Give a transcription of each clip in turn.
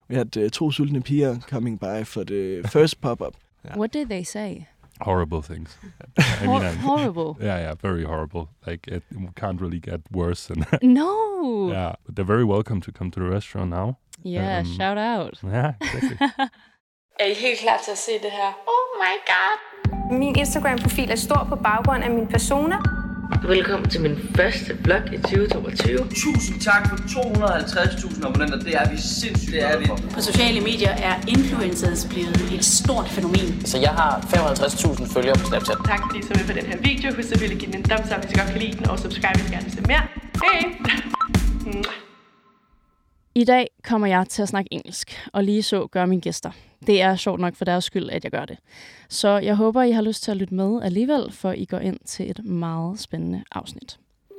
We had to sultne piger coming by for the first pop-up. Yeah. What did they say? Horrible things. Horrible? Yeah, very horrible. Like, it can't really get worse than that. No! Yeah, but they're very welcome to come to the restaurant now. Yeah, shout out. Yeah, exactly. Er I helt klar til at se det her? Oh my god! Min Instagram-profil er stor på baggrund af mine personer. Velkommen til min første vlog i 2022. Tusind tak for 250.000 abonnenter. Det er vi sindssygt. Det er vi. På sociale medier er influencers blevet et stort fænomen. Så jeg har 55.000 følgere på Snapchat. Tak fordi I så med på den her video. Husk selvfølgelig at give den en thumbs up, hvis I godt kan lide den. Og subscribe, hvis I gerne vil se mere. Hej! I dag kommer jeg til at snakke engelsk, og lige så gør mine gæster. Det er sjovt nok for deres skyld, at jeg gør det. Så jeg håber, I har lyst til at lytte med alligevel, for I går ind til et meget spændende afsnit.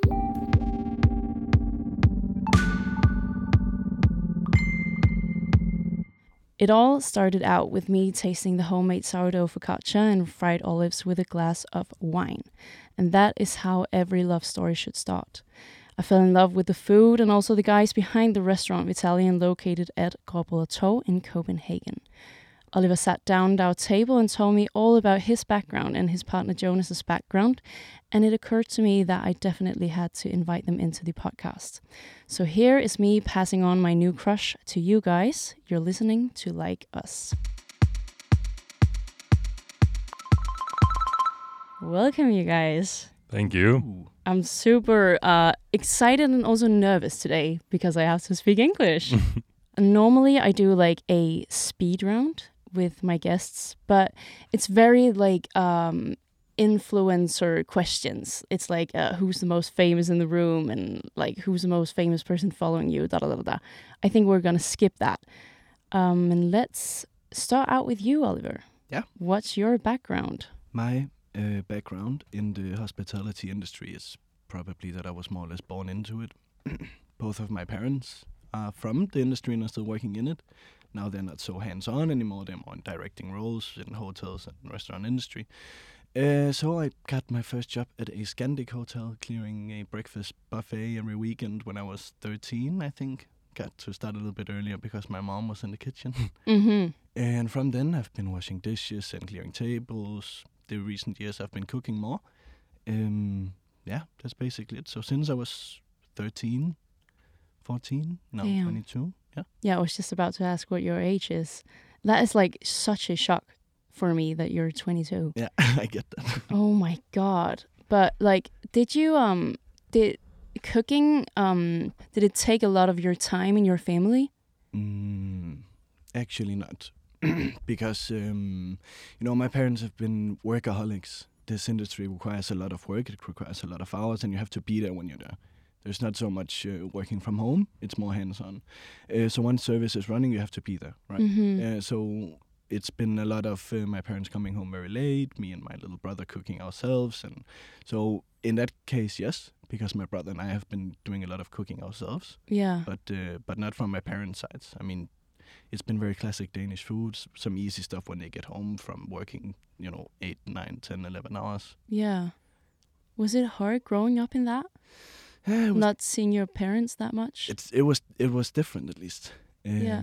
It all started out with me tasting the homemade sourdough focaccia and fried olives with a glass of wine. And that is how every love story should start. I fell in love with the food and also the guys behind the restaurant Vitalian located at Gråbrødre Torv in Copenhagen. Oliver sat down at our table and told me all about his background and his partner Jonas's background, and it occurred to me that I definitely had to invite them into the podcast. So here is me passing on my new crush to you guys. You're listening to Like Us. Welcome, you guys. Thank you. I'm super excited and also nervous today because I have to speak English. Normally, I do like a speed round with my guests, but it's very like influencer questions. It's like who's the most famous in the room and like who's the most famous person following you, da da da da. I think we're gonna skip that. And let's start out with you, Oliver. Yeah. What's your background? My background in the hospitality industry is probably that I was more or less born into it. Both of my parents are from the industry and are still working in it. Now they're not so hands-on anymore. They're more in directing roles in hotels and restaurant industry. So I got my first job at a Scandic hotel, clearing a breakfast buffet every weekend when I was 13, I think. Got to start a little bit earlier because my mom was in the kitchen. Mm-hmm. And from then I've been washing dishes and clearing tables. The recent years I've been cooking more. Yeah, that's basically it. So since I was 13, 14, now 22. Yeah, I was just about to ask what your age is. That is like such a shock for me that you're 22. Yeah, I get that. Oh my God. But like, did cooking, did it take a lot of your time in your family? Actually not. Because, my parents have been workaholics. This industry requires a lot of work. It requires a lot of hours, and you have to be there when you're there. There's not so much working from home. It's more hands-on. So once service is running, you have to be there, right? Mm-hmm. So it's been a lot of my parents coming home very late, me and my little brother cooking ourselves. And so in that case, yes, because my brother and I have been doing a lot of cooking ourselves. Yeah. But not from my parents' sides. I mean, it's been very classic Danish foods, some easy stuff when they get home from working, 8, 9, 10, 11 hours. Yeah. Was it hard growing up in that? Not seeing your parents that much? It was different, at least. Yeah.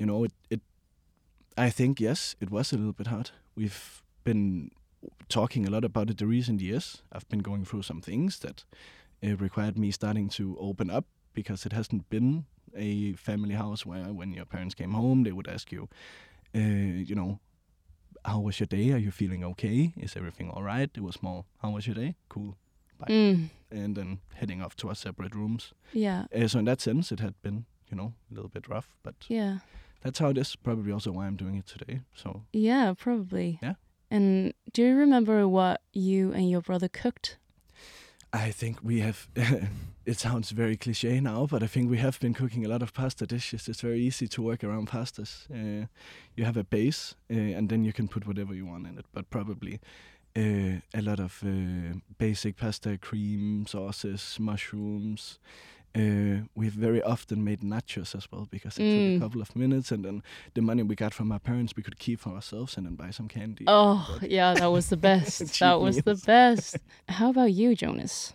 I think, yes, it was a little bit hard. We've been talking a lot about it the recent years. I've been going through some things that required me starting to open up, because it hasn't been a family house where when your parents came home, they would ask you, how was your day? Are you feeling okay? Is everything all right? It was more, how was your day? Cool. Bye. And then heading off to our separate rooms. Yeah. So in that sense, it had been, a little bit rough, but yeah, that's how it is. Probably also why I'm doing it today. So yeah, probably. Yeah. And do you remember what you and your brother cooked? I think we have, it sounds very cliche now, but I think we have been cooking a lot of pasta dishes. It's very easy to work around pastas. You have a base, and then you can put whatever you want in it, but probably a lot of basic pasta, cream, sauces, mushrooms. We've very often made nachos as well, because it took a couple of minutes, and then the money we got from our parents we could keep for ourselves and then buy some candy. Oh, yeah, that was the best. That was the best. How about you, Jonas?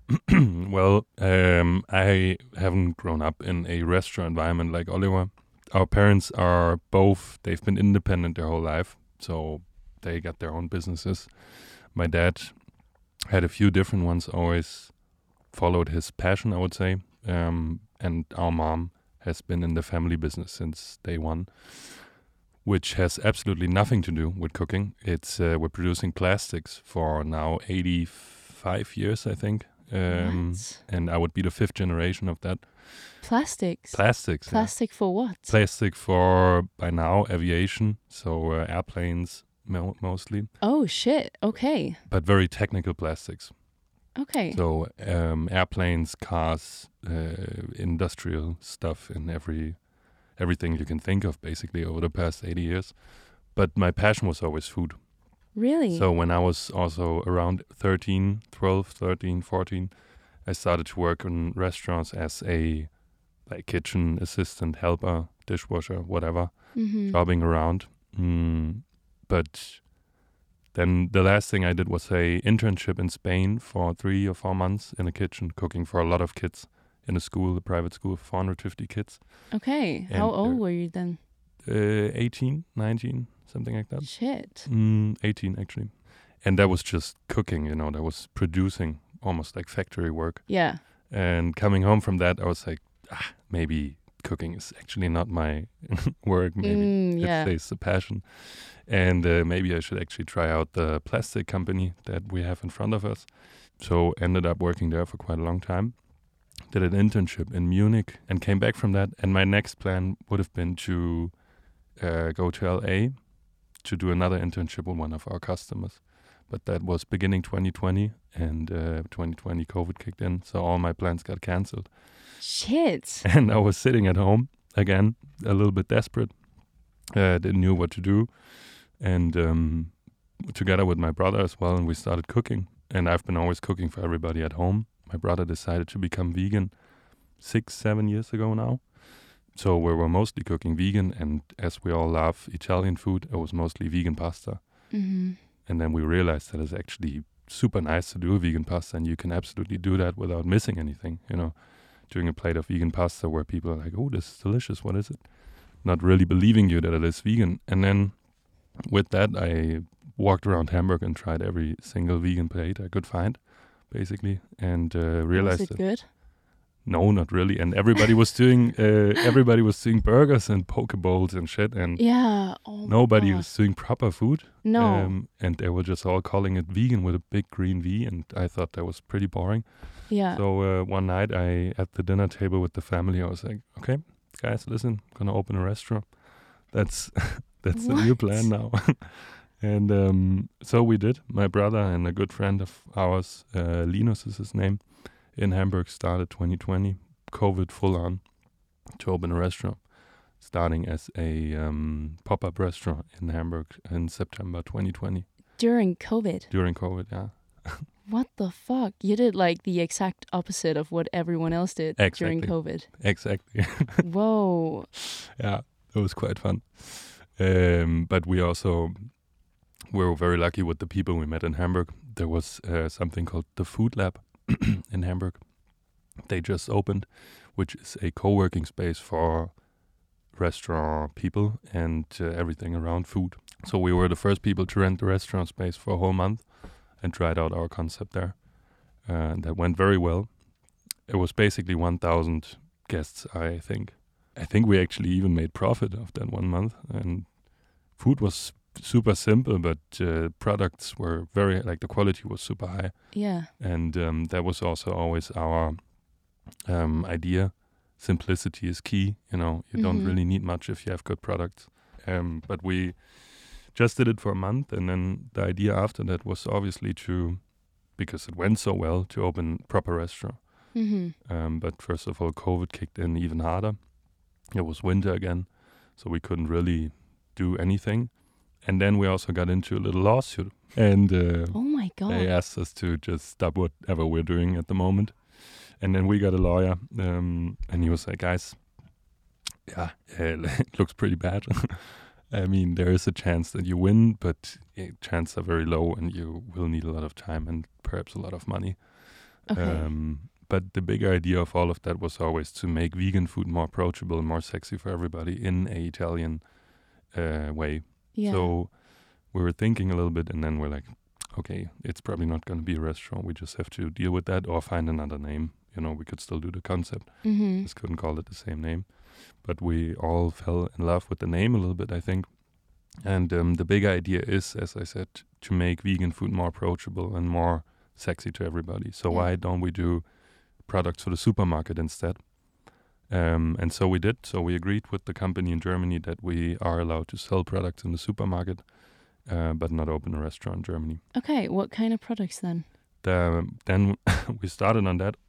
Well, I haven't grown up in a restaurant environment like Oliver. our parents are both, they've been independent their whole life, so they got their own businesses. My dad had a few different ones, always followed his passion, I would say. And our mom has been in the family business since day one, which has absolutely nothing to do with cooking. It's we're producing plastics for now 85 years, I think. And I would be the 5th generation of that. Plastics? Plastic for what? Plastic for, by now, aviation, so airplanes mostly. Oh, shit. Okay. But very technical plastics. Okay. So airplanes, cars, industrial stuff in everything you can think of, basically, over the past 80 years. But my passion was always food. Really? So when I was also around 13, 14, I started to work in restaurants as a kitchen assistant, helper, dishwasher, whatever, jobbing around. But then the last thing I did was a internship in Spain for 3 or 4 months in a kitchen, cooking for a lot of kids in a private school, 450 kids. Okay. And how old were you then? 18, 19, something like that. Shit. 18, actually. And that was just cooking, that was producing, almost like factory work. Yeah. And coming home from that, I was like, maybe cooking is actually not my work. Maybe it's a passion. And maybe I should actually try out the plastic company that we have in front of us. So ended up working there for quite a long time. Did an internship in Munich and came back from that. And my next plan would have been to go to LA to do another internship with one of our customers. But that was beginning 2020, and 2020 COVID kicked in, so all my plans got cancelled. Shit. And I was sitting at home, again, a little bit desperate. Didn't know what to do. And together with my brother as well, and we started cooking. And I've been always cooking for everybody at home. My brother decided to become vegan 6-7 years ago now. So we were mostly cooking vegan, and as we all love Italian food, it was mostly vegan pasta. Mm-hmm. And then we realized that it's actually super nice to do vegan pasta, and you can absolutely do that without missing anything, doing a plate of vegan pasta where people are like, oh, this is delicious, what is it? Not really believing you that it is vegan. And then with that, I walked around Hamburg and tried every single vegan plate I could find, basically, and realized was it good? No, not really. And everybody was doing burgers and poke bowls and shit, and nobody was doing proper food. No. And they were just all calling it vegan with a big green V, and I thought that was pretty boring. Yeah. So one night, at the dinner table with the family, I was like, okay, guys, listen, I'm gonna open a restaurant. That's the new plan now. And so we did. My brother and a good friend of ours, Linus is his name, in Hamburg, started 2020, COVID full on, to open a restaurant, starting as a pop-up restaurant in Hamburg in September 2020. During COVID? During COVID, yeah. What the fuck? You did like the exact opposite of what everyone else did during COVID. Exactly. Whoa. Yeah, it was quite fun. But we were very lucky with the people we met in Hamburg. There was something called the Food Lab in Hamburg. They just opened, which is a co-working space for restaurant people and everything around food. So we were the first people to rent the restaurant space for a whole month and tried out our concept there. And that went very well. It was basically 1,000 guests, I think. I think we actually even made profit of that 1 month. And food was super simple, but products were the quality was super high. Yeah. And that was also always our idea. Simplicity is key. You don't really need much if you have good products. But we just did it for a month, and then the idea after that was obviously because it went so well, to open proper restaurant. Mm-hmm. But first of all, COVID kicked in even harder. It was winter again, so we couldn't really do anything. And then we also got into a little lawsuit. And oh my God. They asked us to just stop whatever we're doing at the moment. And then we got a lawyer, and he was like, guys, it looks pretty bad. I mean, there is a chance that you win, but chances are very low, and you will need a lot of time and perhaps a lot of money. Okay. But the big idea of all of that was always to make vegan food more approachable, more sexy for everybody in a Italian way. Yeah. So we were thinking a little bit, and then we're like, okay, it's probably not going to be a restaurant. We just have to deal with that or find another name. You know, we could still do the concept. Mm-hmm. Just couldn't call it the same name. But we all fell in love with the name a little bit, I think. And the big idea is, as I said, to make vegan food more approachable and more sexy to everybody. So why don't we do products for the supermarket instead? And so we did. So we agreed with the company in Germany that we are allowed to sell products in the supermarket, but not open a restaurant in Germany. Okay, what kind of products then? Then we started on that.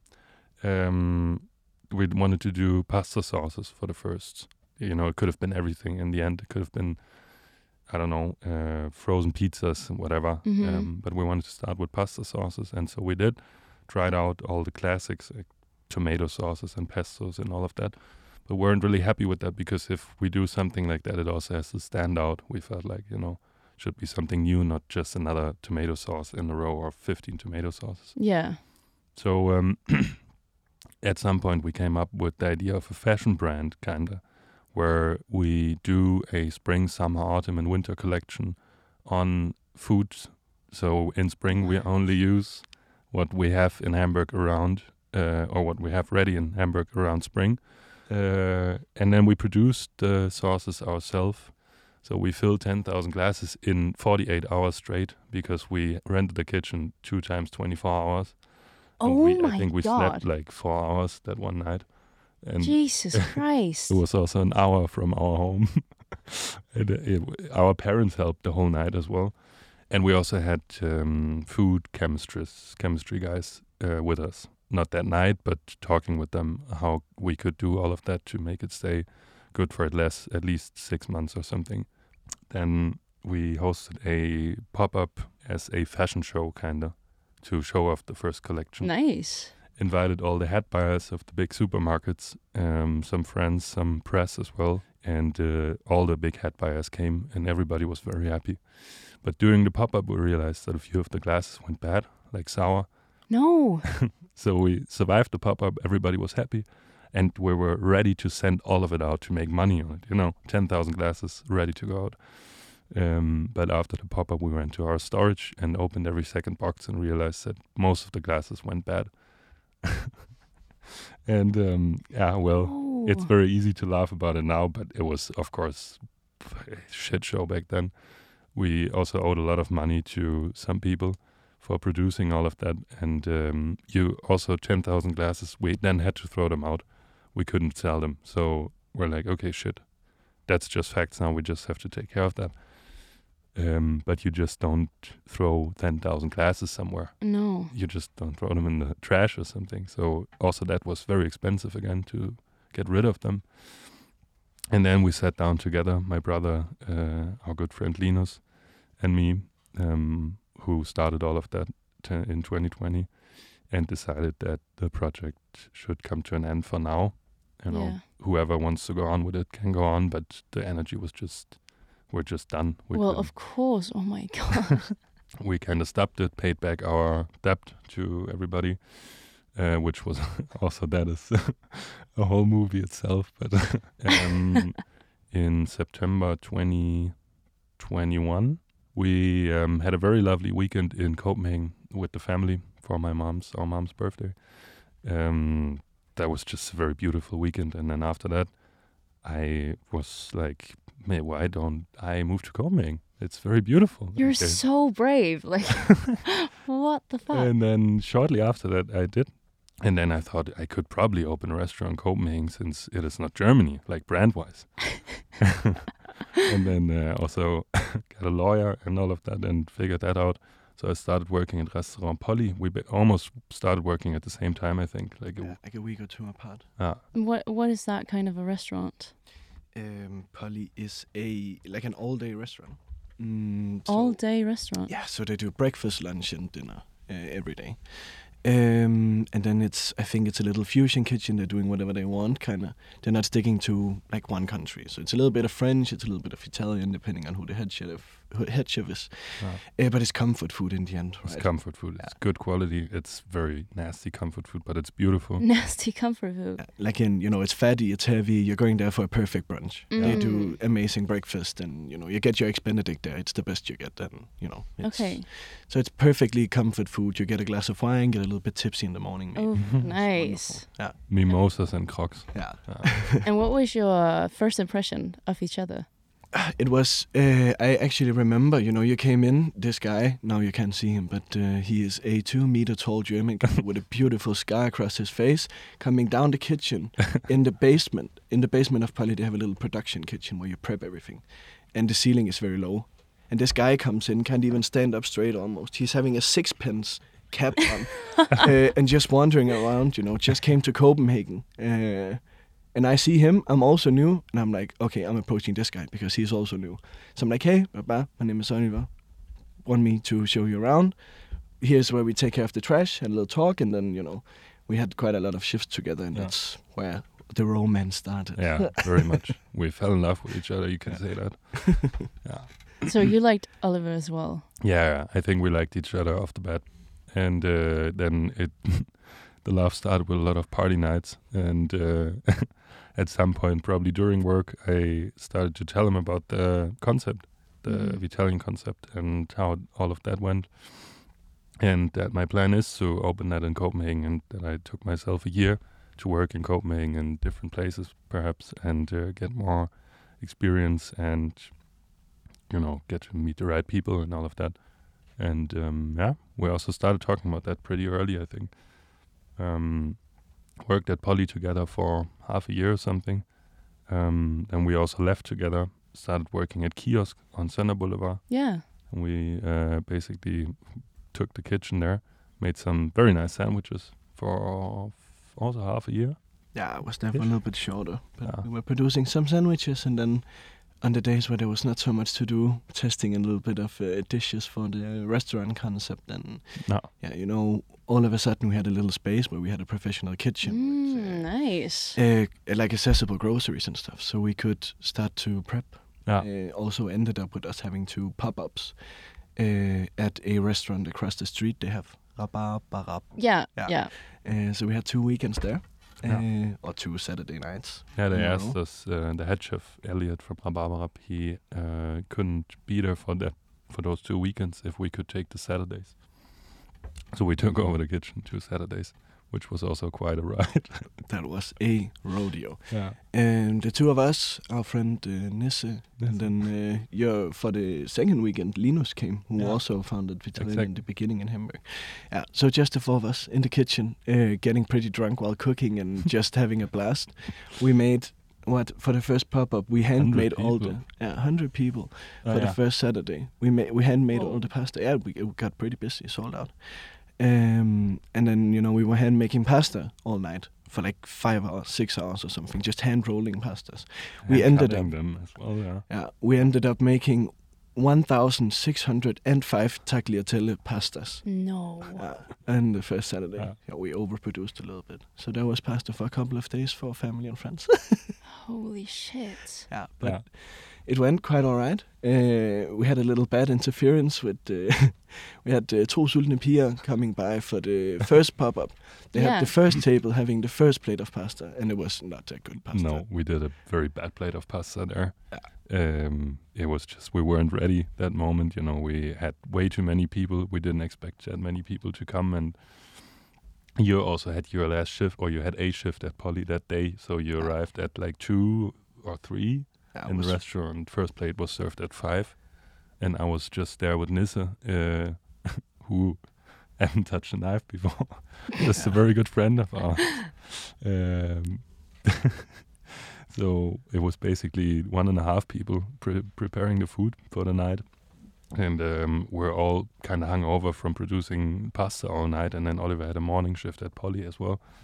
We wanted to do pasta sauces for the first. You know, it could have been everything. In the end, it could have been, I don't know, frozen pizzas and whatever. Mm-hmm. But we wanted to start with pasta sauces. And so we did. Tried out all the classics, like tomato sauces and pestos and all of that. But weren't really happy with that because if we do something like that, it also has to stand out. We felt like, you know, should be something new, not just another tomato sauce in a row or 15 tomato sauces. Yeah. So at some point we came up with the idea of a fashion brand, kinda, where we do a spring, summer, autumn and winter collection on foods. So in spring we only use what we have in Hamburg around, or what we have ready in Hamburg around spring. And then we produced the sauces ourselves. So we filled 10,000 glasses in 48 hours straight because we rented the kitchen 2 times 24 hours. Oh my I think we God. slept like 4 hours that one night. And Jesus Christ. it was also an hour from our home. Our parents helped the whole night as well. And we also had food chemistry guys with us. Not that night, but talking with them how we could do all of that to make it stay good for at least 6 months or something. Then we hosted a pop-up as a fashion show, kinda, to show off the first collection. Nice. Invited all the head buyers of the big supermarkets, some friends, some press as well, and all the big head buyers came, and everybody was very happy. But during the pop-up, we realized that a few of the glasses went bad, like sour. No. So we survived the pop-up, everybody was happy, and we were ready to send all of it out to make money on it. You know, 10,000 glasses ready to go out. But after the pop-up, we went to our storage and opened every second box and realized that most of the glasses went bad. And it's very easy to laugh about it now, but it was, of course, a shit show back then. We also owed a lot of money to some people for producing all of that. And you also 10,000 glasses, we then had to throw them out. We couldn't sell them. So we're like, okay, shit, that's just facts now. We just have to take care of that. But you just don't throw 10,000 glasses somewhere. No. You just don't throw them in the trash or something. So also that was very expensive again to get rid of them. And then we sat down together, my brother, our good friend Linus, and me, who started all of that in 2020, and decided that the project should come to an end for now. You know, whoever wants to go on with it can go on, but the energy was we're just done. Of course. Oh my God. We kind of stopped it, paid back our debt to everybody, which was also, that is a whole movie itself. But in September 2021, we had a very lovely weekend in Copenhagen with the family for our mom's birthday. That was just a very beautiful weekend. And then after that, I was like, man, why don't I move to Copenhagen? It's very beautiful. You're so brave. Like, what the fuck? And then shortly after that, I did. And then I thought I could probably open a restaurant in Copenhagen since it is not Germany, like brand-wise. And then also got a lawyer and all of that and figured that out. So I started working at Restaurant Polly. We almost started working at the same time, I think. Like a week or two apart. What is that kind of a restaurant? Polly is like an all-day restaurant. All-day restaurant? Yeah, so they do breakfast, lunch and dinner every day. And then I think it's a little fusion kitchen. They're doing whatever they want, kind of. They're not sticking to like one country. So it's a little bit of French, it's a little bit of Italian, depending on who the head chef is. But it's comfort food in the end, right? It's comfort food. It's good quality. It's very nasty comfort food, but it's beautiful. Nasty comfort food. Like it's fatty, it's heavy. You're going there for a perfect brunch. They do amazing breakfast, and you get your Eggs Benedict there. It's the best you get. And okay. So it's perfectly comfort food. You get a glass of wine, get a little bit tipsy in the morning. Maybe. Oh, nice. Yeah. Mimosas and crocs. Yeah. And what was your first impression of each other? It was, I actually remember, you came in, this guy, now you can't see him, but he is a 2-meter tall German guy with a beautiful scar across his face, coming down the kitchen in the basement. In the basement of Polly, they have a little production kitchen where you prep everything. And the ceiling is very low. And this guy comes in, can't even stand up straight almost. He's having a 6-pence cap on and just wandering around, just came to Copenhagen. And I see him, I'm also new, and I'm like, okay, I'm approaching this guy because he's also new. So I'm like, hey, Baba, my name is Oliver. Want me to show you around? Here's where we take care of the trash, had a little talk, and then, we had quite a lot of shifts together, and that's where the romance started. Yeah, very much. We fell in love with each other, you can say that. Yeah. So you liked Oliver as well? Yeah, I think we liked each other off the bat. And then the love started with a lot of party nights, and at some point, probably during work, I started to tell him about the concept, the Vitalian concept, and how all of that went. And that my plan is to open that in Copenhagen, and that I took myself a year to work in Copenhagen in different places, perhaps, and get more experience and, get to meet the right people and all of that. And we also started talking about that pretty early, I think. Worked at Polly together for half a year or something. Then we also left together, started working at Kiosk on Center Boulevard. Yeah. And we basically took the kitchen there, made some very nice sandwiches for also half a year. Yeah, it was there for a little bit shorter. But we were producing some sandwiches, and then on the days where there was not so much to do, testing a little bit of dishes for the restaurant concept. And all of a sudden we had a little space where we had a professional kitchen. With, nice. Like accessible groceries and stuff. So we could start to prep. Yeah. Also ended up with us having 2 pop-ups at a restaurant across the street. They have Rabarbarab. Yeah. So we had 2 weekends there. Or 2 Saturday nights. Yeah, they asked us, the head chef, Elliot from Rabarbarab, he couldn't be there for those 2 weekends if we could take the Saturdays. So we took over the kitchen 2 Saturdays, which was also quite a ride. That was a rodeo. Yeah. And the 2 of us, our friend Nisse, and then for the second weekend, Linus came, who also founded Vitalian in the beginning in Hamburg. Yeah, so just the 4 of us in the kitchen, getting pretty drunk while cooking and just having a blast. We made, for the first pop-up, we handmade all the 100 people for the first Saturday. We handmade all the pasta. Yeah, we got pretty busy, sold out. And then, we were hand making pasta all night for like 5 hours, 6 hours or something, just hand rolling pastas. We ended up them as well, we ended up making 1,605 tagliatelle pastas. No. And the first Saturday, we overproduced a little bit. So there was pasta for a couple of days for family and friends. Holy shit. Yeah, but it went quite all right. We had a little bad interference with... we had 2 sultne piger coming by for the first pop-up. They had the first table having the first plate of pasta, and it was not a good pasta. No, we did a very bad plate of pasta there. It was just, we weren't ready that moment. We had way too many people. We didn't expect that many people to come, and you also had your last shift, or you had a shift at Polly that day, so you arrived at like 2 or 3 in the restaurant. First plate was served at 5, and I was just there with Nisse, who hadn't touched a knife before. Just a very good friend of ours. So it was basically 1.5 people preparing the food for the night. And we're all kind of hungover from producing pasta all night. And then Oliver had a morning shift at Polly as well.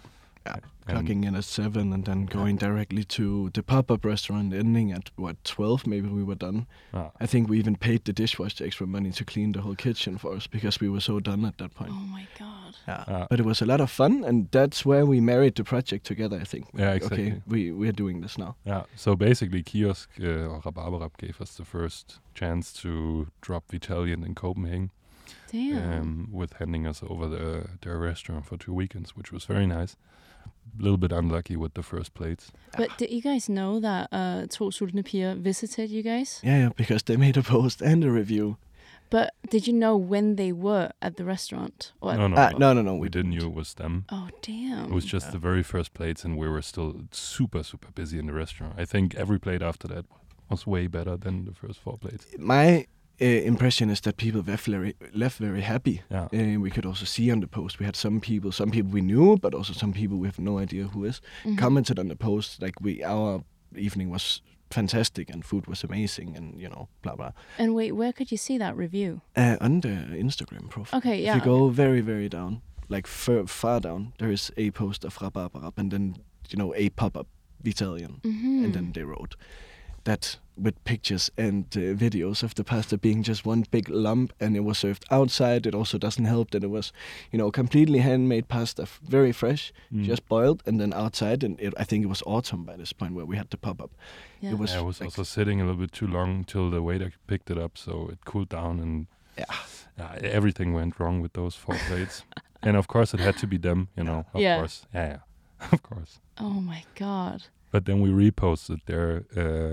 clocking in at 7 and then going directly to the pop-up restaurant, ending at 12 maybe we were done. I think we even paid the dishwasher extra money to clean the whole kitchen for us because we were so done at that point. Oh my god. But it was a lot of fun, and that's where we married the project together, I think. Yeah, exactly. Okay, we are doing this now. Yeah, so basically Kiosk or Rhabarberrap gave us the first chance to drop Vitalian in Copenhagen. Damn. With handing us over their restaurant for 2 weekends, which was very nice. A little bit unlucky with the first plates. But did you guys know that To Sultne Piger visited you guys? Yeah, because they made a post and a review. But did you know when they were at the restaurant? Or No. We didn't know it was them. Oh, damn. It was just the very first plates, and we were still super, super busy in the restaurant. I think every plate after that was way better than the first 4 plates. My impression is that people left very happy. Yeah. We could also see on the post, we had some people we knew, but also some people we have no idea who is, commented on the post, like our evening was fantastic and food was amazing and, blah, blah. And wait, where could you see that review? On the Instagram profile. Okay, yeah. If you go very, very down, like far down, there is a post of Rhabarberap and then, a pop-up Vitalian. And then they wrote that with pictures and videos of the pasta being just one big lump, and it was served outside. It also doesn't help that it was, completely handmade pasta, very fresh, just boiled, and then outside. And I think it was autumn by this point where we had the pop-up. Yeah. It was, also sitting a little bit too long till the waiter picked it up, so it cooled down, and everything went wrong with those 4 plates. And of course, it had to be them, Of course, of course. Oh my god! But then we reposted their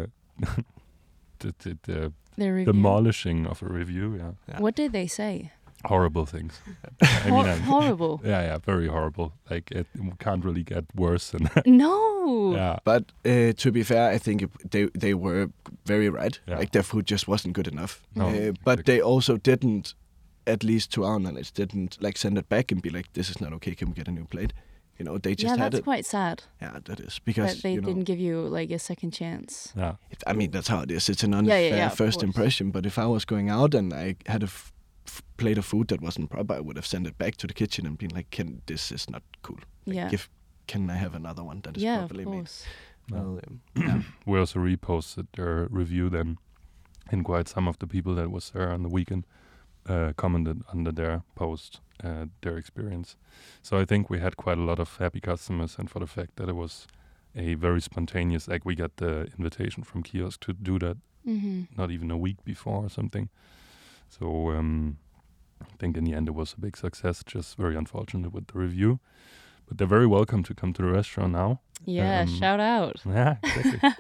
the review? demolishing of a review. Yeah. What did they say? Horrible things. Horrible. Yeah, very horrible. Like it can't really get worse than that. No. Yeah. But to be fair, I think they were very right. Yeah. Like their food just wasn't good enough. No, but they also didn't, at least to our knowledge, like send it back and be like, "This is not okay. Can we get a new plate?" They just had it. That's quite sad. Yeah, that is because that they didn't give you like a second chance. Yeah. I mean, that's how it is. It's an unfair first impression. But if I was going out and I had a plate of food that wasn't proper, I would have sent it back to the kitchen and been like, "This is not cool. Like, can I have another one that is properly made?" Well, we also reposted their review then, and quite some of the people that was there on the weekend commented under their post their experience. So I think we had quite a lot of happy customers, and for the fact that it was a very spontaneous, like we got the invitation from Kiosk to do that not even a week before or something. So I think in the end it was a big success, just very unfortunate with the review. But they're very welcome to come to the restaurant now. Yeah, shout out. Yeah, exactly.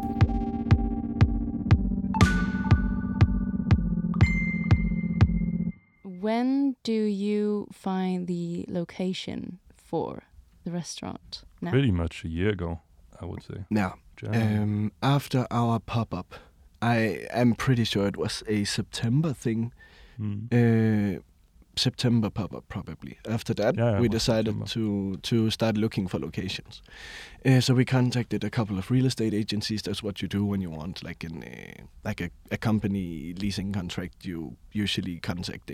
When do you find the location for the restaurant now? Pretty much a year ago, I would say. Yeah. After our pop-up, I am pretty sure it was a September thing. September pop-up probably. After that, we decided to start looking for locations. So we contacted a couple of real estate agencies. That's what you do when you want, like a company leasing contract. You usually contact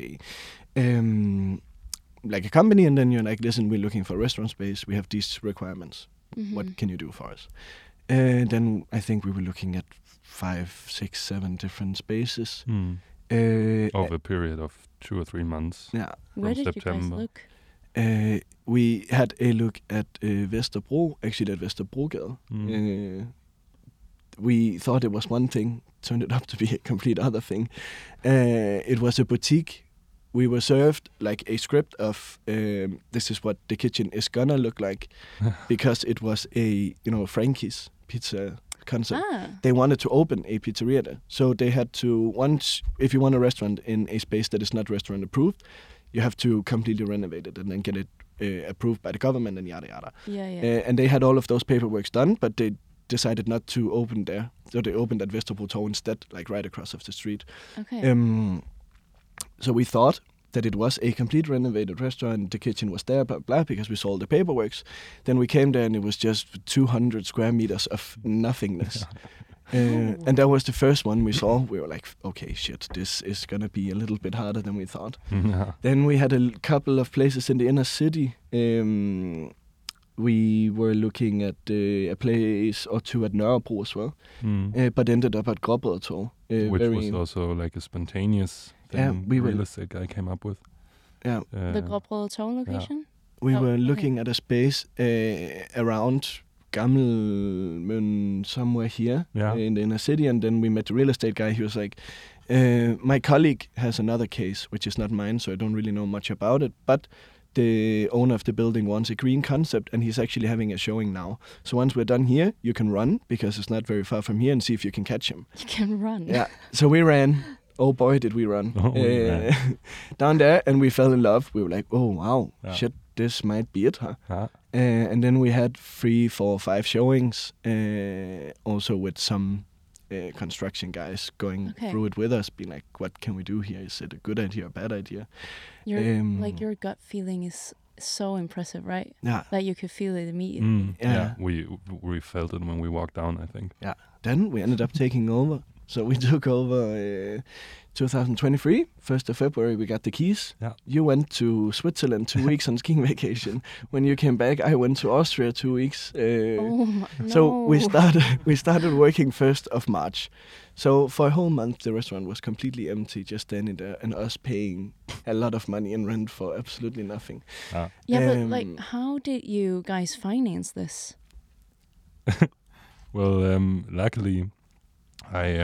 a company, and then you're like, "Listen, we're looking for restaurant space. We have these requirements. What can you do for us?" Then I think we were looking at 5, 6, 7 different spaces. Over a period of 2 or 3 months. Yeah. Where did September. you guys look? We had a look at Vesterbro, actually at Vesterbrogade. We thought it was one thing, turned it up to be a complete other thing. It was a boutique. We were served like a script of this is what the kitchen is gonna look like, because it was a Frankie's pizza concept. They wanted to open a pizzeria there, so they had to, once, if you want a restaurant in a space that is not restaurant approved, you have to completely renovate it and then get it approved by the government and yada yada. And they had all of those paperworks done, but they decided not to open there, so they opened at Vesterbro instead, like right across of the street. Okay. So we thought that it was a complete renovated restaurant, the kitchen was there, blah, blah, because we saw all the paperworks. Then we came there and it was just 200 square meters of nothingness. And that was the first one we saw. We were like, okay, shit, this is going to be a little bit harder than we thought. Then we had a couple of places in the inner city. we were looking at a place or two at Nørrebro as well, but ended up at Gråbrødretorv. Which was also like a spontaneous thing real estate guy came up with. Yeah. The Gråbrødretorv location? We were looking at a space around Gammelmøn, somewhere here in the inner city, and then we met the real estate guy. He was like, my colleague has another case, which is not mine, so I don't really know much about it, but the owner of the building wants a green concept, and he's actually having a showing now. So once we're done here, you can run, because it's not very far from here, and see if you can catch him. You can run? Yeah. So we ran. Oh boy, did we run. Down there, and we fell in love. We were like, oh wow, shit, this might be it, huh? And then we had 3, 4, 5 showings, also with some construction guys going through it with us, being like, what can we do here? Is it a good idea or a bad idea? Your gut feeling is so impressive, right? Yeah. That you could feel it immediately. Yeah, we felt it when we walked down, I think. Yeah. Then we ended up taking over. So we took over 2023, 1st of February, we got the keys. Yeah. You went to Switzerland 2 weeks on skiing vacation. When you came back, I went to Austria 2 weeks. So we started working 1st of March. So for a whole month, the restaurant was completely empty, just standing there, and us paying a lot of money in rent for absolutely nothing. Yeah, but like, how did you guys finance this? Well, luckily, I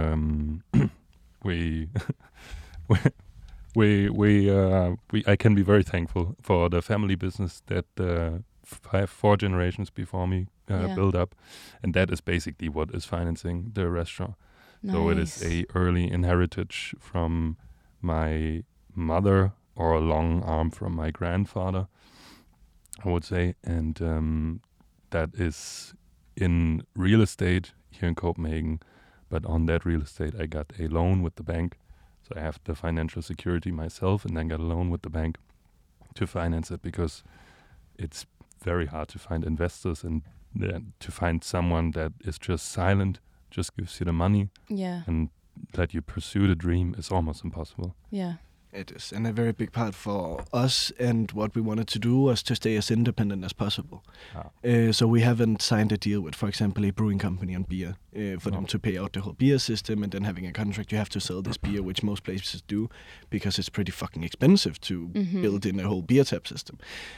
I can be very thankful for the family business that 4 generations before me built up, and that is basically what is financing the restaurant. Nice. So it is a early inheritage from my mother, or a long arm from my grandfather, I would say, and that is in real estate here in Copenhagen. But on that real estate, I got a loan with the bank. So I have the financial security myself, and then got a loan with the bank to finance it, because it's very hard to find investors, and to find someone that is just silent, just gives you the money, and let you pursue the dream is almost impossible. Yeah. It is, and a very big part for us and what we wanted to do was to stay as independent as possible. So we haven't signed a deal with, for example, a brewing company on beer for them to pay out the whole beer system, and then having a contract, you have to sell this beer, which most places do, because it's pretty fucking expensive to build in a whole beer tap system.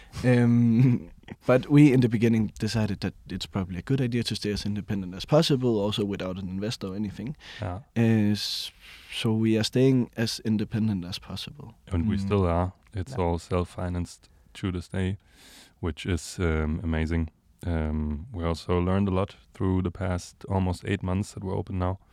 But we, in the beginning, decided that it's probably a good idea to stay as independent as possible, also without an investor or anything. So we are staying as independent as possible. And we still are. It's all self-financed to this day, which is amazing. We also learned a lot through the past almost 8 months that we're open now.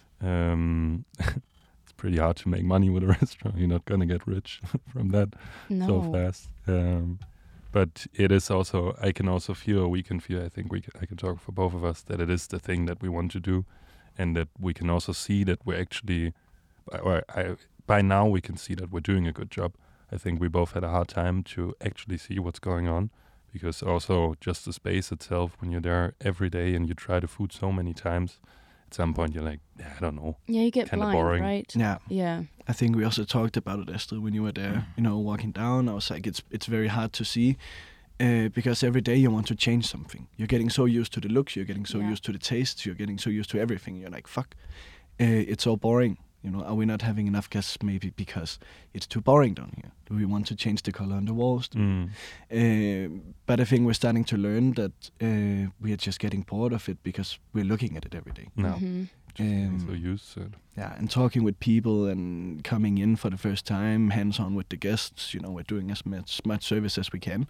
It's pretty hard to make money with a restaurant. You're not going to get rich from that so fast. But it is also, I can also feel, or we can feel, I think I can talk for both of us, that it is the thing that we want to do, and that we can also see that we're actually, by now we can see that we're doing a good job. I think we both had a hard time to actually see what's going on, because also just the space itself, when you're there every day and you try the food so many times, at some point you're like, I don't know. Yeah, you get blind, boring. right? Yeah. I think we also talked about it, Esther, when you were there, walking down. I was like, it's very hard to see, because every day you want to change something. You're getting so used to the looks, you're getting so used to the tastes, you're getting so used to everything. You're like, fuck, it's so boring. Are we not having enough guests? Maybe because it's too boring down here. Do we want to change the color on the walls? But I think we're starting to learn that we are just getting bored of it, because we're looking at it every day. No. So used to it. Yeah, and talking with people and coming in for the first time, hands-on with the guests. We're doing as much service as we can.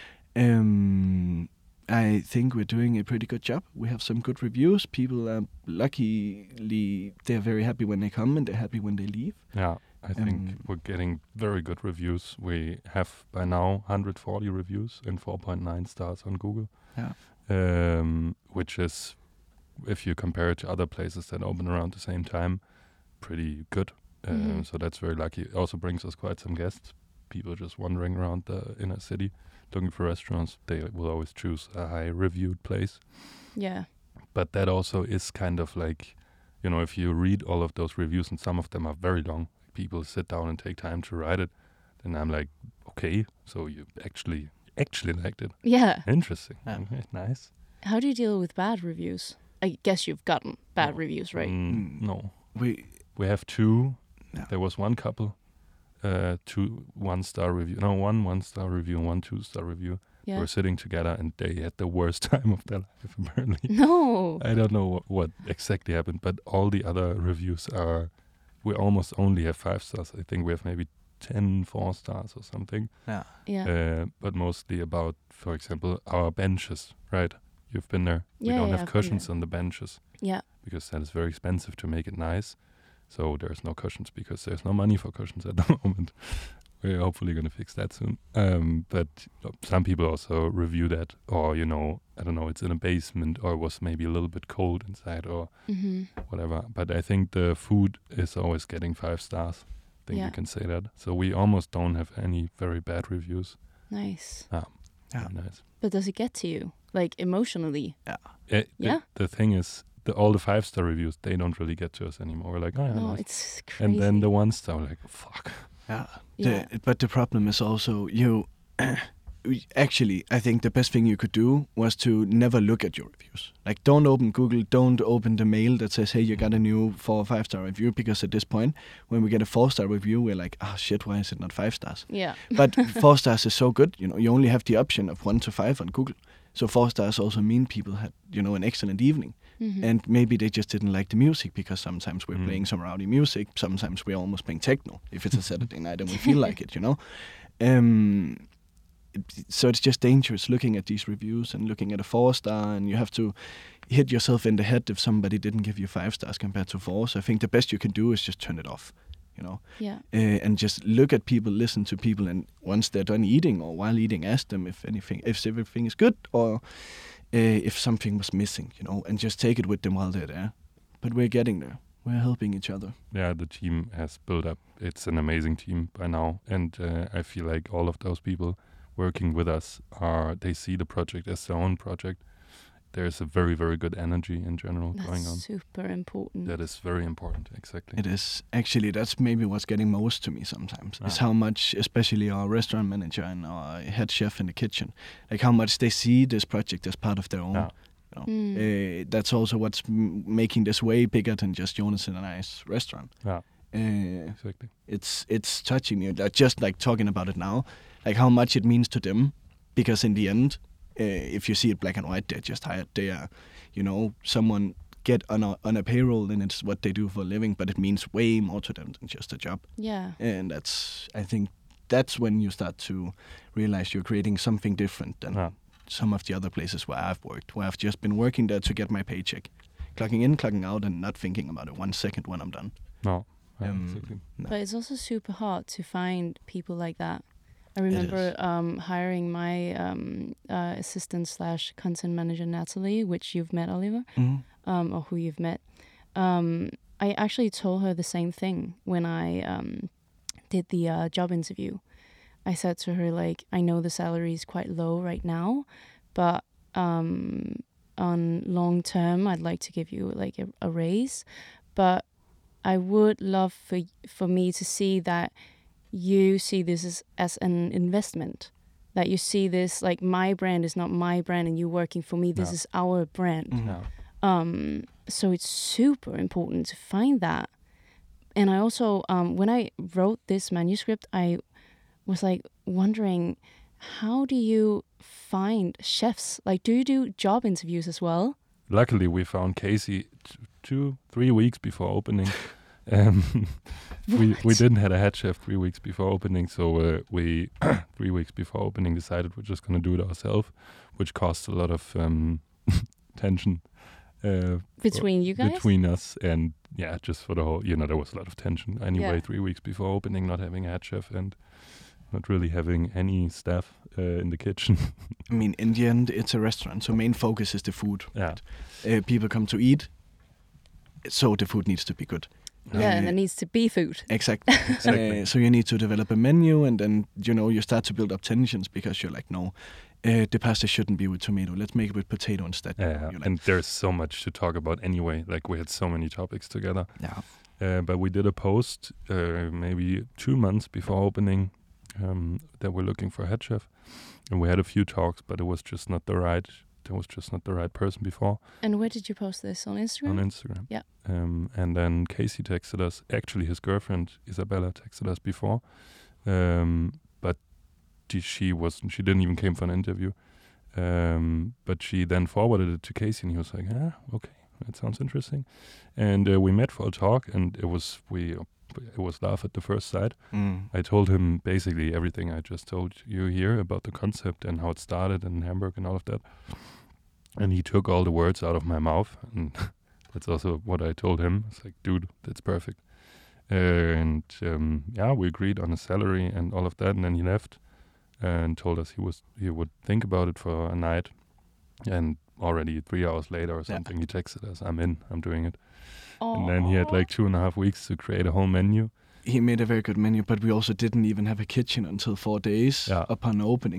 I think we're doing a pretty good job. We have some good reviews. People are luckily, they're very happy when they come, and they're happy when they leave. Yeah, I think we're getting very good reviews. We have by now 140 reviews and 4.9 stars on Google. Yeah. Which is, if you compare it to other places that open around the same time, pretty good. So that's very lucky. It also brings us quite some guests. People just wandering around the inner city looking for restaurants. They will always choose a high-reviewed place. Yeah. But that also is kind of like, if you read all of those reviews, and some of them are very long, people sit down and take time to write it, then I'm like, okay, so you actually actually liked it. Yeah. Interesting. Yeah. Okay, nice. How do you deal with bad reviews? I guess you've gotten bad reviews, right? No. We have 2. Yeah. There was one couple, 2 1-star review. No, 1 1-star review and 1 2-star review. Yeah. Were sitting together and they had the worst time of their life, apparently. No. I don't know what exactly happened, but all the other reviews we almost only have 5 stars. I think we have maybe 10 4 stars or something. Yeah. But mostly about, for example, our benches, right? You've been there. We Yeah, don't yeah, have I've been cushions there. on the benches. Yeah. Because that is very expensive to make it nice. So there's no cushions because there's no money for cushions at the moment. We're hopefully going to fix that soon. But some people also review that, or, I don't know, it's in a basement or was maybe a little bit cold inside or whatever. But I think the food is always getting 5 stars. I think we can say that. So we almost don't have any very bad reviews. Nice. Very nice. But does it get to you, like emotionally? The thing is, all the 5-star reviews, they don't really get to us anymore. We're like, oh yeah, No, nice. it's crazy. And then the 1-star, we're like, fuck. Yeah. But the problem is also actually, I think the best thing you could do was to never look at your reviews. Like, don't open Google, don't open the mail that says, hey, you got a new 4 or 5-star review, because at this point, when we get a 4-star review, we're like, oh shit, why is it not 5 stars? Yeah. But 4 stars is so good, you only have the option of 1 to 5 on Google. So 4 stars also mean people had, an excellent evening. Mm-hmm. And maybe they just didn't like the music, because sometimes we're playing some rowdy music, sometimes we're almost playing techno, if it's a Saturday night and we feel like it, So it's just dangerous looking at these reviews and looking at a 4-star, and you have to hit yourself in the head if somebody didn't give you 5 stars compared to 4. So I think the best you can do is just turn it off, Yeah. And just look at people, listen to people, and once they're done eating or while eating, ask them if everything is good or if something was missing, and just take it with them while they're there. But we're getting there. We're helping each other. Yeah, the team has built up. It's an amazing team by now. And I feel like all of those people working with us they see the project as their own project. There's a very, very good energy in general going on. That's super important. That is very important, exactly. It is. Actually, that's maybe what's getting most to me sometimes, is how much, especially our restaurant manager and our head chef in the kitchen, like how much they see this project as part of their own. That's also what's making this way bigger than just Jonas and I's restaurant. Yeah, exactly. It's touching me, just like talking about it now, like how much it means to them, because in the end, if you see it black and white, they're just hired. They are, someone get on a payroll, and it's what they do for a living, but it means way more to them than just a job. Yeah. And I think that's when you start to realize you're creating something different than some of the other places where I've worked, where I've just been working there to get my paycheck, clocking in, clocking out, and not thinking about it 1 second when I'm done. No. Exactly. But it's also super hard to find people like that. I remember hiring my assistant/content manager, Natalie, which you've met, Oliver, or who you've met. I actually told her the same thing when I did the job interview. I said to her, like, I know the salary is quite low right now, but on long term, I'd like to give you like a raise. But I would love for me to see that you see this as an investment, that you see this like my brand is not my brand and you working for me, this is our brand. So it's super important to find that. And I also when I wrote this manuscript, I was like wondering, how do you find chefs? Like, do you do job interviews as well? Luckily we found Casey 2-3 weeks before opening. We didn't have a head chef 3 weeks before opening, so we 3 weeks before opening decided we're just going to do it ourselves, which caused a lot of tension between you guys, between us, and just for the whole, there was a lot of tension anyway. 3 weeks before opening, not having a head chef and not really having any staff in the kitchen. I mean, in the end, it's a restaurant, so main focus is the food. Yeah, people come to eat, so the food needs to be good. Yeah, and there needs to be food. Exactly. So you need to develop a menu, and then, you start to build up tensions, because you're like, no, the pasta shouldn't be with tomato. Let's make it with potato instead. Yeah, like, and there's so much to talk about anyway. Like, we had so many topics together. Yeah. But we did a post maybe 2 months before opening that we're looking for a head chef. And we had a few talks, but it was just not the right. There was just not the right person before. And where did you post this, on Instagram? On Instagram. Yeah. And then Casey texted us. Actually, his girlfriend Isabella texted us before, but she didn't even came for an interview. But she then forwarded it to Casey, and he was like, okay, that sounds interesting. And we met for a talk, and it was love at the first sight. I told him basically everything I just told you here about the concept and how it started in Hamburg and all of that. And he took all the words out of my mouth, and that's also what I told him. It's like, dude, that's perfect. And we agreed on a salary and all of that, and then he left and told us he would think about it for a night. And already 3 hours later or something, he texted us, I'm doing it. Aww. And then he had like 2.5 weeks to create a whole menu. He made a very good menu, but we also didn't even have a kitchen until 4 days upon opening.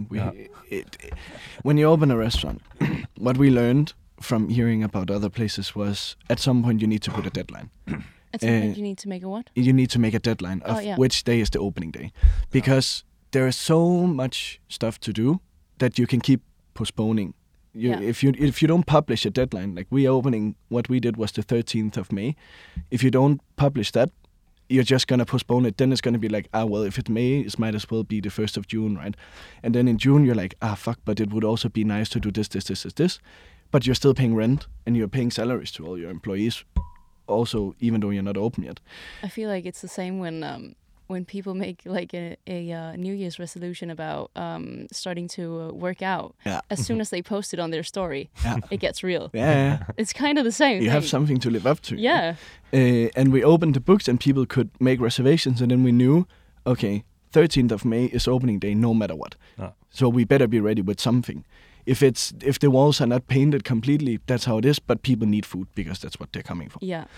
When you open a restaurant, what we learned from hearing about other places was at some point you need to put a deadline. At some point you need to make a what? You need to make a deadline of which day is the opening day. Because there is so much stuff to do that you can keep postponing. If you don't publish a deadline, like we opening, what we did was the 13th of May. If you don't publish that, you're just going to postpone it. Then it's going to be like, if it's May, it might as well be the 1st of June, right? And then in June, you're like, fuck, but it would also be nice to do this. But you're still paying rent and you're paying salaries to all your employees also, even though you're not open yet. I feel like it's the same when people make like a New Year's resolution about starting to work out. Yeah. As soon as they post it on their story, it gets real. Yeah. It's kind of the same. You have something to live up to. Yeah. And we opened the books and people could make reservations, and then we knew, okay, 13th of May is opening day no matter what. So we better be ready with something. If the walls are not painted completely, that's how it is, but people need food because that's what they're coming for. Yeah.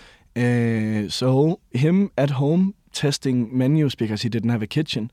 So him at home testing menus because he didn't have a kitchen.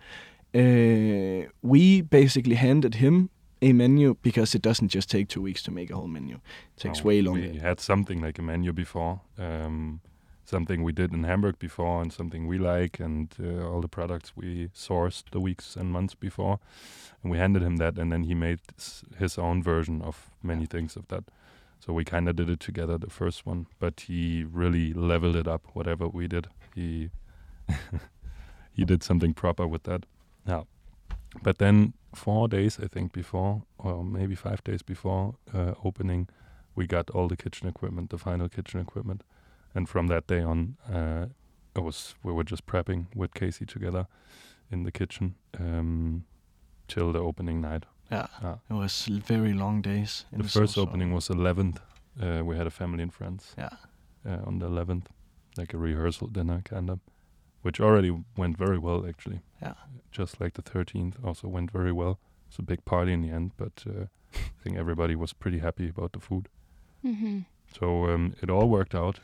We basically handed him a menu because it doesn't just take 2 weeks to make a whole menu. It takes way longer. We had something like a menu before, something we did in Hamburg before and something we like, and all the products we sourced the weeks and months before. And we handed him that, and then he made his own version of many things of that. So we kind of did it together, the first one, but he really leveled it up, whatever we did. He did something proper with that. Yeah. But then 4 days, I think, before, or maybe 5 days before opening, we got all the kitchen equipment, the final kitchen equipment. And from that day on, we were just prepping with Casey together in the kitchen till the opening night. Yeah, it was very long days. The first opening was 11th. We had a family and friends. Yeah. On the 11th, like a rehearsal dinner kind of, which already went very well actually. Yeah. Just like the 13th also went very well. It was a big party in the end, but I think everybody was pretty happy about the food. Mm-hmm. So it all worked out.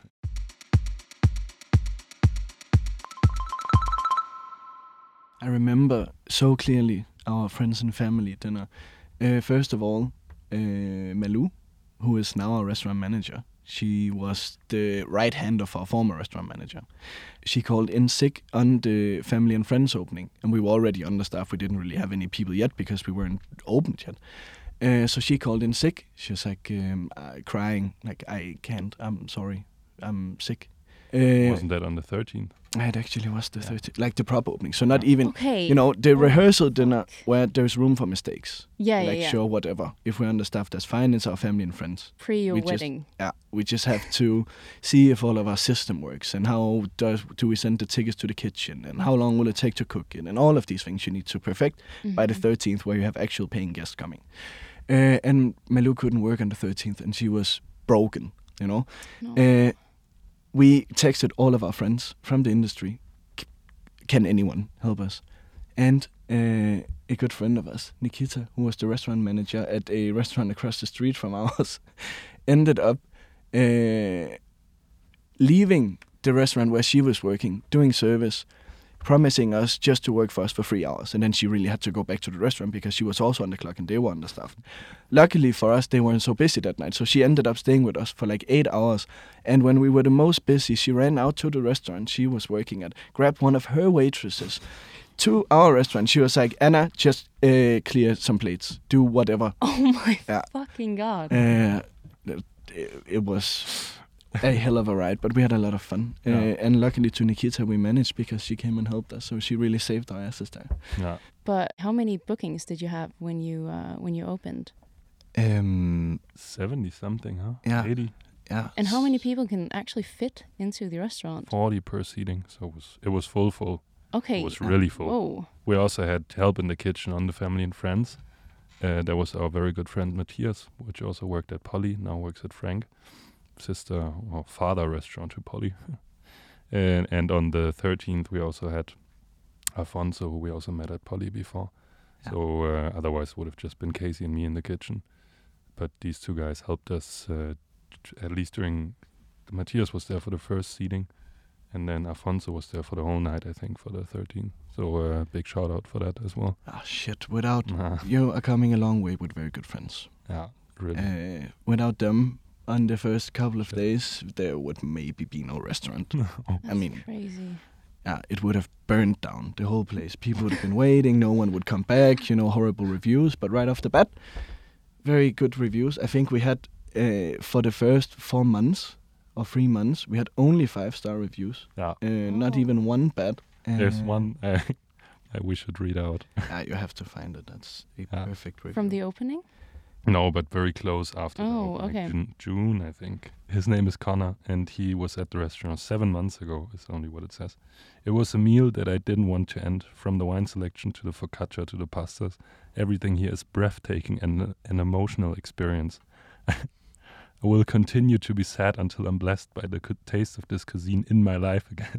I remember so clearly our friends and family dinner. First of all, Malou, who is now our restaurant manager. She was the right hand of our former restaurant manager. She called in sick on the family and friends opening, and we were already understaffed. We didn't really have any people yet because we weren't opened yet. So she called in sick. She was like crying, like, I can't, I'm sorry, I'm sick. Wasn't that on the 13th? It actually was the 13th, like the proper opening. So not even, the rehearsal dinner where there's room for mistakes. Sure, whatever. If we're understaffed, that's fine. It's our family and friends. Pre your wedding. We just have to see if all of our system works and how do we send the tickets to the kitchen and how long will it take to cook it and all of these things you need to perfect by the 13th where you have actual paying guests coming. And Malou couldn't work on the 13th and she was broken, No. We texted all of our friends from the industry. Can anyone help us? And a good friend of us, Nikita, who was the restaurant manager at a restaurant across the street from ours, ended up leaving the restaurant where she was working, doing service, promising us just to work for us for 3 hours. And then she really had to go back to the restaurant because she was also on the clock and they were understaffed. Luckily for us, they weren't so busy that night. So she ended up staying with us for like 8 hours. And when we were the most busy, she ran out to the restaurant she was working at, grabbed one of her waitresses, to our restaurant. She was like, Anna, just clear some plates. Do whatever. Oh my fucking God. It was a hell of a ride, but we had a lot of fun. And luckily to Nikita, we managed because she came and helped us. So she really saved our asses there. Yeah. But how many bookings did you have when you opened? 70 something, huh? Yeah. 80. Yeah. And how many people can actually fit into the restaurant? 40 per seating, so it was full. Okay. It was really full. Whoa. We also had help in the kitchen on the family and friends. There was our very good friend Matthias, which also worked at Polly, now works at Frank, sister or father restaurant to Polly. and on the 13th we also had Alfonso, who we also met at Polly before. Yeah. So otherwise would have just been Casey and me in the kitchen. But these two guys helped us at least during... Matthias was there for the first seating, and then Alfonso was there for the whole night, I think, for the 13th. So big shout out for that as well. Ah, shit. Without... You are coming a long way with very good friends. Yeah, really. Without them, on the first couple of days, there would maybe be no restaurant. That's crazy. Yeah, it would have burned down the whole place. People would have been waiting. No one would come back. Horrible reviews. But right off the bat, very good reviews. I think we had, for the first 4 months or 3 months, we had only 5-star reviews. Yeah. Not even one bad. There's one we should read out. You have to find it. That's a perfect review. From the opening? No, but very close after the opening. Okay. June, I think. His name is Connor, and he was at the restaurant 7 months ago, is only what it says. It was a meal that I didn't want to end. From the wine selection to the focaccia to the pastas, everything here is breathtaking and an emotional experience. I will continue to be sad until I'm blessed by the taste of this cuisine in my life again.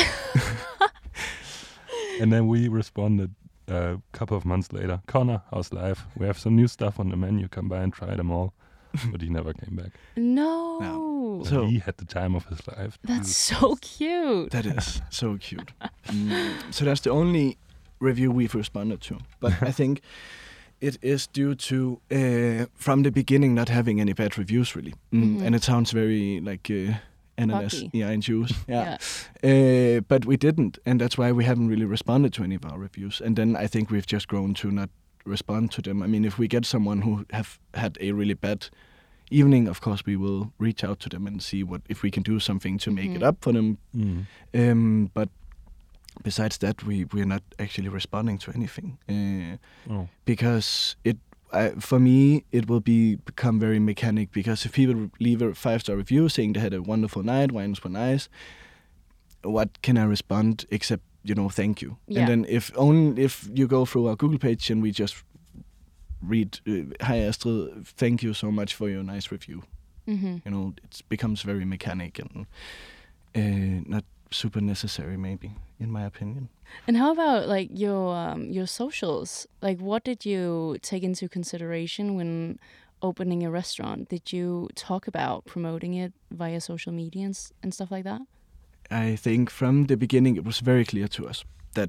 And then we responded a couple of months later, Connor, how's life? We have some new stuff on the menu. Come by and try them all. But he never came back. No. So he had the time of his life. That's so cute. That is so cute. So that's the only review we've responded to. But I think it is due to, from the beginning, not having any bad reviews, really. And it sounds very like... ananas, and juice. Yeah. But we didn't, and that's why we haven't really responded to any of our reviews. And then I think we've just grown to not respond to them. I mean, if we get someone who have had a really bad evening, of course we will reach out to them and see if we can do something to make it up for them. But besides that, we're not actually responding to anything because for me, it will become very mechanic, because if people leave a 5-star review saying they had a wonderful night, wines were nice, what can I respond except, thank you? Yeah. And then if you go through our Google page and we just read, hi Astrid, thank you so much for your nice review. It becomes very mechanic and not super necessary, maybe, in my opinion. And how about like your socials? Like, what did you take into consideration when opening a restaurant? Did you talk about promoting it via social media and stuff like that? I think from the beginning it was very clear to us that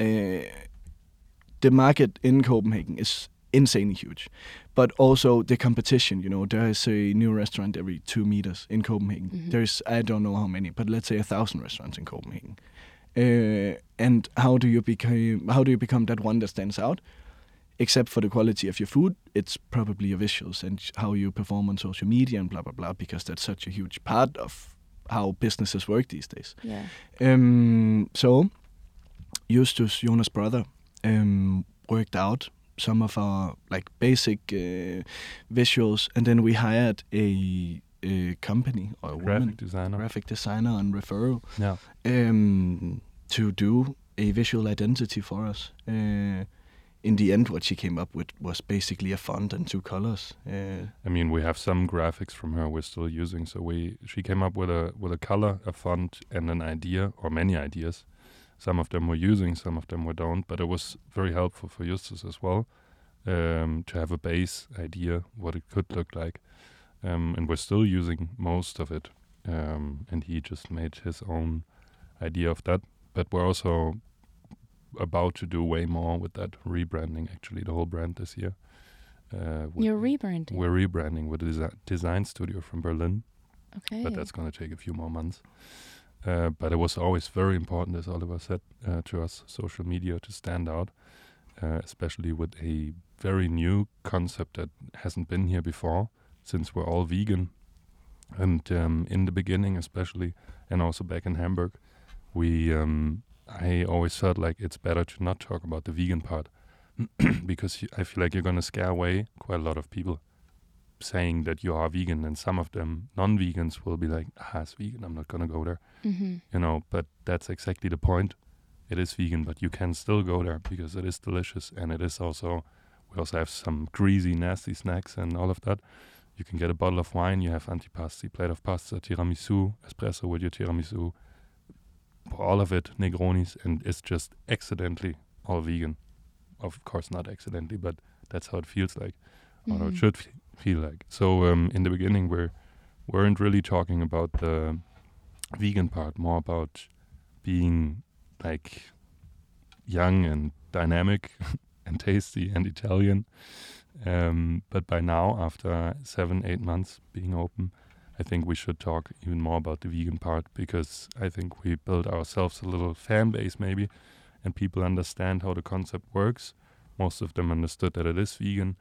the market in Copenhagen is insanely huge, but also the competition. There is a new restaurant every 2 meters in Copenhagen. There's, I don't know how many, but let's say 1,000 restaurants in Copenhagen. And how do you become that one that stands out? Except for the quality of your food, it's probably your visuals and how you perform on social media and blah blah blah, because that's such a huge part of how businesses work these days. Yeah. So Justus, Jonas' brother, worked out some of our basic visuals, and then we hired a company or a graphic designer on referral to do a visual identity for us. In the end, what she came up with was basically a font and 2 colors. I mean, we have some graphics from her we're still using. So she came up with a color, a font, and an idea, or many ideas. Some of them we're using, some of them we don't. But it was very helpful for Justus as well to have a base idea what it could look like. And we're still using most of it. And he just made his own idea of that. But we're also about to do way more with that, rebranding actually the whole brand this year. You're rebranding? We're rebranding with a design studio from Berlin. Okay. But that's going to take a few more months. But it was always very important, as Oliver said, to us, social media, to stand out, especially with a very new concept that hasn't been here before, since we're all vegan. And in the beginning, especially, and also back in Hamburg, I always felt like it's better to not talk about the vegan part because I feel like you're going to scare away quite a lot of people saying that you are vegan, and some of them non-vegans will be like, it's vegan, I'm not going to go there. Mm-hmm. But that's exactly the point. It is vegan, but you can still go there because it is delicious, and it is also, we also have some greasy, nasty snacks and all of that. You can get a bottle of wine, you have antipasti, plate of pasta, tiramisu, espresso with your tiramisu, all of it, Negronis, and it's just accidentally all vegan. Of course not accidentally, but that's how it feels like, or how it should feel like. So in the beginning, we weren't really talking about the vegan part, more about being like young and dynamic and tasty and Italian. But by now, after 7-8 months being open, I think we should talk even more about the vegan part, because I think we built ourselves a little fan base maybe, and people understand how the concept works. Most of them understood that it is vegan.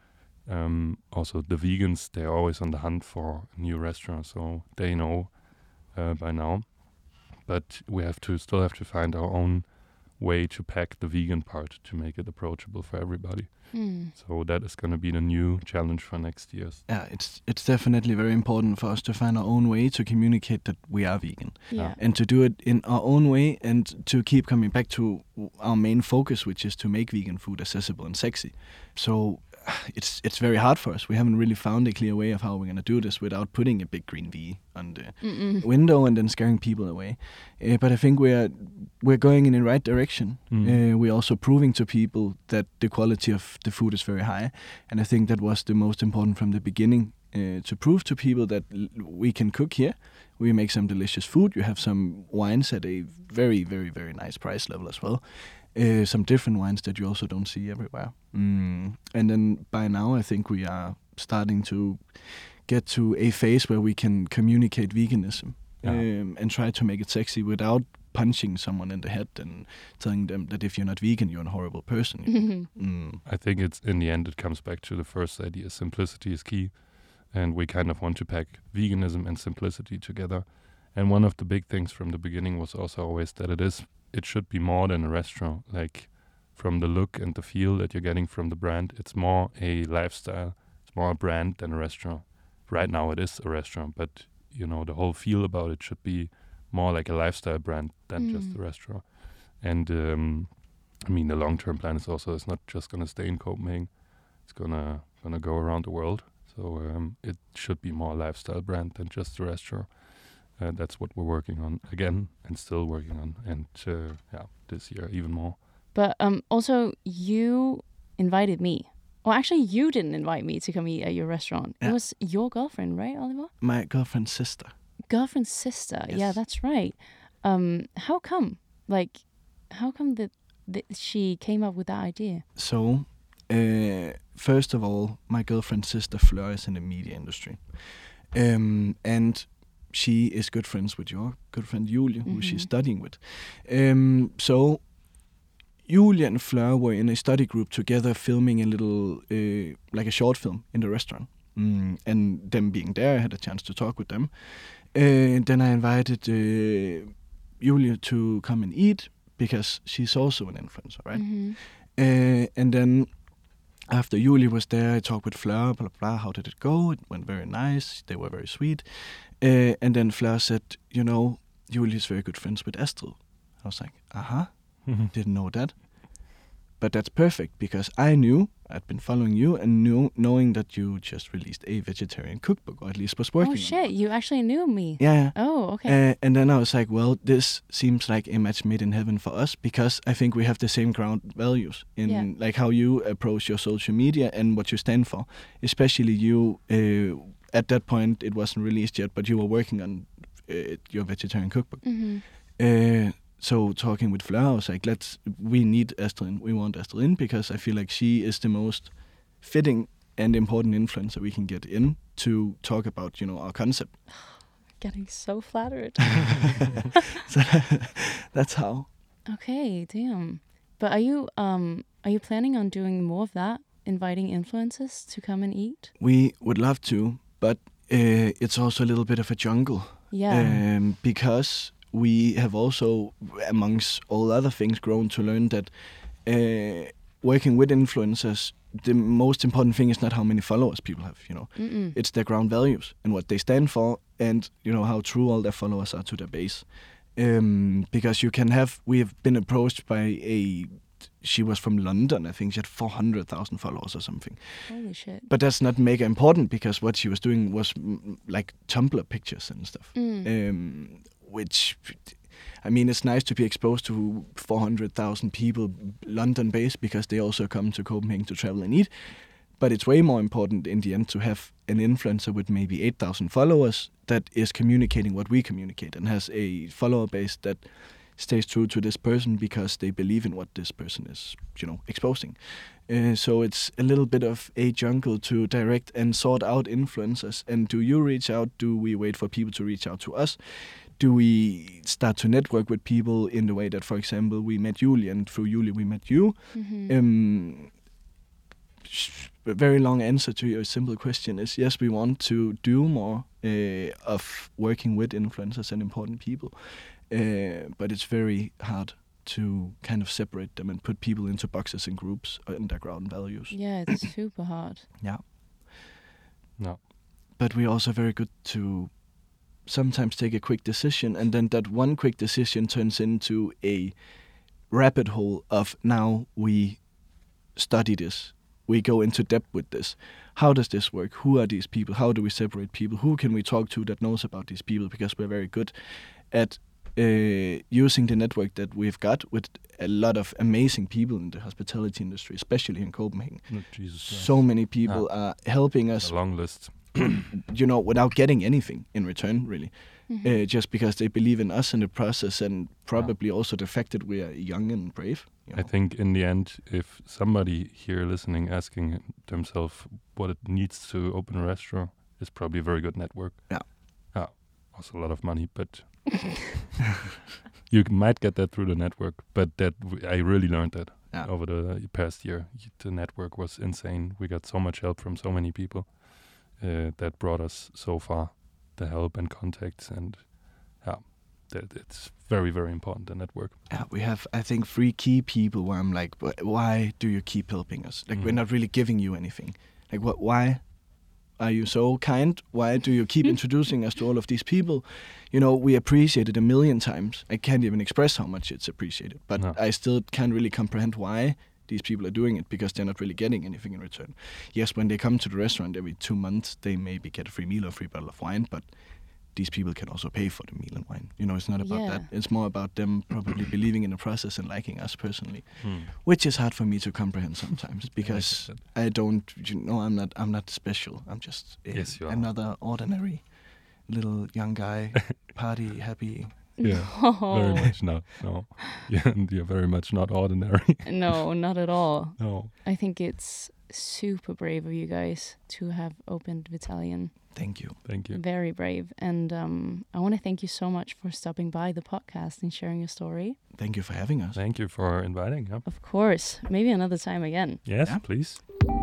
Also, the vegans, they're always on the hunt for a new restaurant, so they know by now. But we still have to find our own way to pack the vegan part to make it approachable for everybody. So that is going to be the new challenge for next year. Yeah, it's definitely very important for us to find our own way to communicate that we are vegan. Yeah. And to do it in our own way, and to keep coming back to our main focus, which is to make vegan food accessible and sexy. So it's very hard for us. We haven't really found a clear way of how we're going to do this without putting a big green V on the window and then scaring people away. But I think we're going in the right direction. We're also proving to people that the quality of the food is very high, and I think that was the most important from the beginning, to prove to people that we can cook here. We make some delicious food. You have some wines at a very, very, very nice price level as well. Some different wines that you also don't see everywhere. And then by now, I think we are starting to get to a phase where we can communicate veganism and try to make it sexy without punching someone in the head and telling them that if you're not vegan, you're a horrible person. I think it's in the end, it comes back to the first idea. Simplicity is key. And we kind of want to pack veganism and simplicity together. And one of the big things from the beginning was also always that it should be more than a restaurant. Like, from the look and the feel that you're getting from the brand, it's more a lifestyle. It's more a brand than a restaurant. Right now it is a restaurant, but the whole feel about it should be more like a lifestyle brand than just a restaurant. And the long-term plan is also, it's not just going to stay in Copenhagen. It's gonna go around the world. So it should be more a lifestyle brand than just a restaurant. That's what we're working on again, and still working on, and this year even more. But also, you invited me. Well, actually, you didn't invite me to come eat at your restaurant. Yeah. It was your girlfriend, right, Oliver? My girlfriend's sister. Girlfriend's sister. Yes. Yeah, that's right. How come? How come that she came up with that idea? So, first of all, my girlfriend's sister Fleur is in the media industry, and she is good friends with your good friend Julie, who she's studying with. So Julie and Fleur were in a study group together, filming a little, like a short film in the restaurant. And them being there, I had a chance to talk with them. Then I invited Julie to come and eat, because she's also an influencer, right? And then after Julie was there, I talked with Fleur, blah, blah, blah. How did it go? It went very nice. They were very sweet. And then Fleur said, Julie is very good friends with Astrid. I was like, didn't know that. But that's perfect, because I knew, I'd been following you, and knowing that you just released a vegetarian cookbook, or at least was working on it. Oh shit, you actually knew me. Yeah. Oh, okay. And then I was like, well, this seems like a match made in heaven for us, because I think we have the same ground values in like how you approach your social media and what you stand for. Especially you, at that point, it wasn't released yet, but you were working on your vegetarian cookbook. So talking with Fleur, I was like, we need Astrid in. We want Astrid in, because I feel like she is the most fitting and important influencer we can get in to talk about, our concept. getting so flattered. So that's how. Okay, damn. But are you planning on doing more of that? Inviting influencers to come and eat? We would love to, but it's also a little bit of a jungle. Yeah. Because we have also, amongst all other things, grown to learn that working with influencers, the most important thing is not how many followers people have, It's their ground values and what they stand for, and how true all their followers are to their base. Because we have been approached by she was from London, I think she had 400,000 followers or something. Holy shit. But that's not mega important, because what she was doing was like Tumblr pictures and stuff. Which, I mean, it's nice to be exposed to 400,000 people London-based, because they also come to Copenhagen to travel and eat. But it's way more important in the end to have an influencer with maybe 8,000 followers that is communicating what we communicate and has a follower base that stays true to this person because they believe in what this person is, exposing. So it's a little bit of a jungle to direct and sort out influencers. And do you reach out? Do we wait for people to reach out to us? Do we start to network with people in the way that, for example, we met Julie, and through Julie we met you? Mm-hmm. A very long answer to your simple question is yes, we want to do more of working with influencers and important people. But it's very hard to kind of separate them and put people into boxes and groups and their ground values. Yeah, it's super hard. Yeah. No. But we're also very good to sometimes take a quick decision, and then that one quick decision turns into a rabbit hole of now we study this. We go into depth with this. How does this work? Who are these people? How do we separate people? Who can we talk to that knows about these people? Because we're very good at using the network that we've got with a lot of amazing people in the hospitality industry, especially in Copenhagen. So many people are helping us. A long list. Without getting anything in return, really. Mm-hmm. Just because they believe in us in the process, and probably also the fact that we are young and brave. I think in the end, if somebody here listening asking themselves what it needs to open a restaurant, is probably a very good network. Yeah. Also a lot of money, but you might get that through the network. But I really learned that over the past year. The network was insane. We got so much help from so many people that brought us so far. The help and contacts, and it's very, very important, the network. Yeah, we have, I think, 3 key people where I'm like, why do you keep helping us? Like, we're not really giving you anything. Like, why are you so kind? Why do you keep introducing us to all of these people? We appreciate it 1,000,000 times. I can't even express how much it's appreciated, but I still can't really comprehend why these people are doing it, because they're not really getting anything in return. Yes, when they come to the restaurant every 2 months, they maybe get a free meal or a free bottle of wine, but these people can also pay for the meal and wine. It's not about that. It's more about them probably believing in the process and liking us personally, which is hard for me to comprehend sometimes, because I don't, I'm not special. I'm just another ordinary little young guy, party happy. Yeah, very much not. No, you're very much not ordinary. No, not at all. No. I think it's super brave of you guys to have opened Vitalian. Thank you. Very brave. And I want to thank you so much for stopping by the podcast and sharing your story. Thank you for having us. Thank you for inviting. Yeah. Of course. Maybe another time again. Yes, please.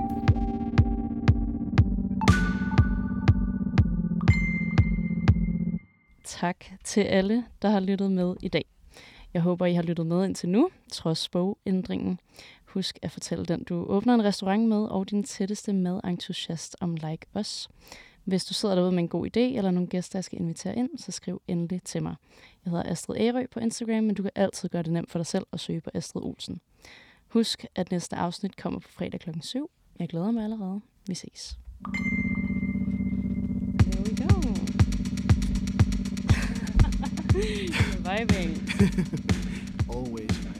Tak til alle, der har lyttet med i dag. Jeg håber, I har lyttet med indtil nu, trods bogændringen. Husk at fortælle den, du åbner en restaurant med, og din tætteste madentusiast om Like Us. Hvis du sidder derude med en god idé, eller nogle gæster, jeg skal invitere ind, så skriv endelig til mig. Jeg hedder Astrid Ærø på Instagram, men du kan altid gøre det nemt for dig selv at søge på Astrid Olsen. Husk, at næste afsnit kommer på fredag kl. 7. Jeg glæder mig allerede. Vi ses. Here we go. You're vibing. Always.